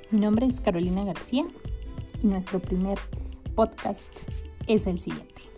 Mi nombre es Carolina García y nuestro primer podcast es el siguiente.